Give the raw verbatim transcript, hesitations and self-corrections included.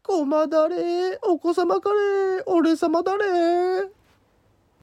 ごまだれ、お子様カレー、俺様だれ。